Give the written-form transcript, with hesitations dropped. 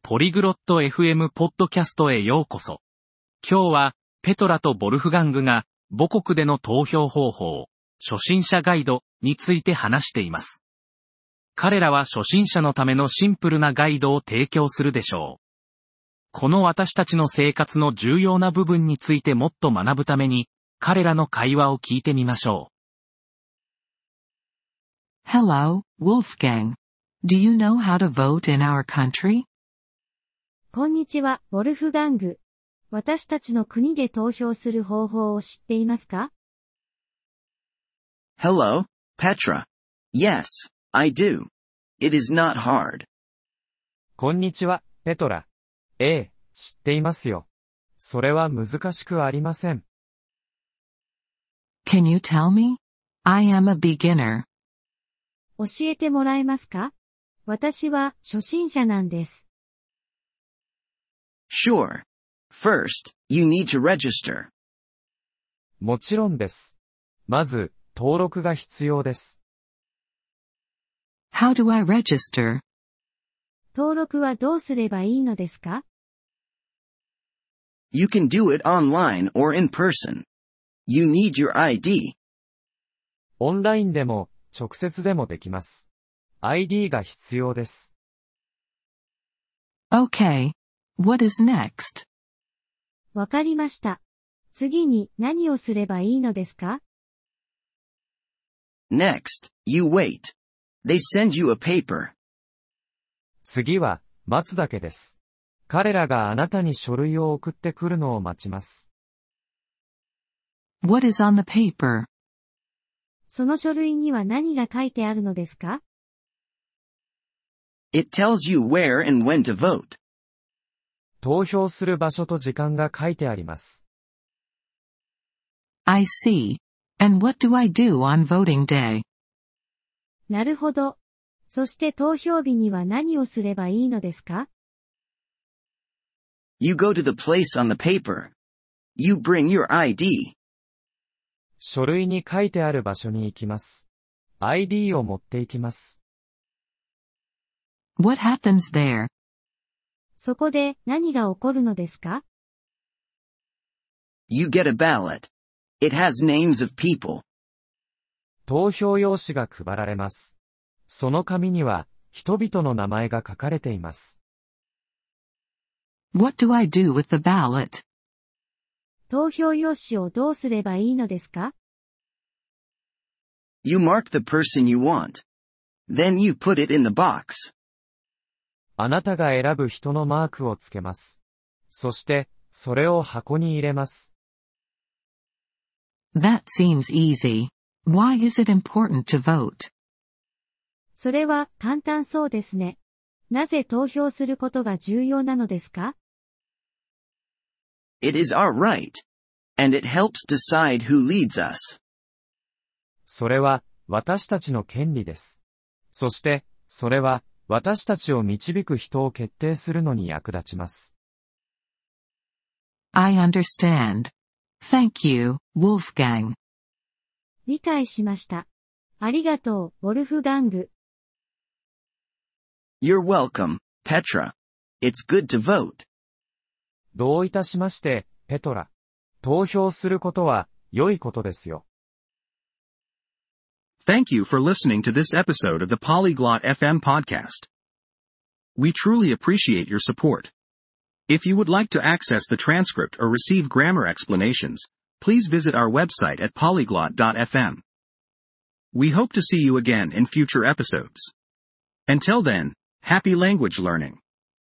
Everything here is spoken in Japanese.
ポリグロット FM ポッドキャストへようこそ。今日は、ペトラとボルフガングが、母国での投票方法、初心者ガイドについて話しています。彼らは初心者のためのシンプルなガイドを提供するでしょう。この私たちの生活の重要な部分についてもっと学ぶために、彼らの会話を聞いてみましょう。Hello, Wolfgang. Do you know how to vote in our country? こんにちは、ウォルフガング。私たちの国で投票する方法を知っていますか？ Hello, Petra. Yes, I do. It is not hard. こんにちは、ペトラ。ええ、知っていますよ。それは難しくありません。 Can you tell me? I am a beginner. 教えてもらえますか？私は初心者なんです。 Sure. First, you need to register. もちろんです。まず、登録が必要です。 How do I register? 登録はどうすればいいのですか？ You can do it online or in person. You need your ID. オンラインでも、直接でもできます。ID が必要です。 Okay. What is next? わかりました。次に何をすればいいのですか？ Next, you wait. They send you a paper. 次は、待つだけです。彼らがあなたに書類を送ってくるのを待ちます。 What is on the paper? その書類には何が書いてあるのですか？ It tells you where and when to vote. 投票する場所と時間が書いてあります。 I see. And what do I do on voting day? なるほど。そして投票日には何をすればいいのですか？ You go to the place on the paper. You bring your ID. 書類に書いてある場所に行きます。ID を持って行きます。 What happens there? そこで何が起こるのですか？ You get a ballot. It has names of people. 投票用紙が配られます。その紙には人々の名前が書かれています。 What do I do with the ballot? 投票用紙をどうすればいいのですか？ You mark the person you want. Then you put it in the box. あなたが選ぶ人のマークをつけます。そして、それを箱に入れます。 That seems easy. Why is it important to vote? それは簡単そうですね。なぜ投票することが重要なのですか？ It is our right. And it helps decide who leads us. それは、私たちの権利です。そして、それは、私たちを導く人を決定するのに役立ちます。 I understand. Thank you, Wolfgang. 理解しました。ありがとう、ウォルフガング。 You're welcome, Petra. It's good to vote. どういたしまして、ペトラ。投票することは、良いことですよ。 Thank you for listening to this episode of the Polyglot FM podcast. We truly appreciate your support. If you would like to access the transcript or receive grammar explanations, please visit our website at polyglot.fm. We hope to see you again in future episodes. Until then, happy language learning.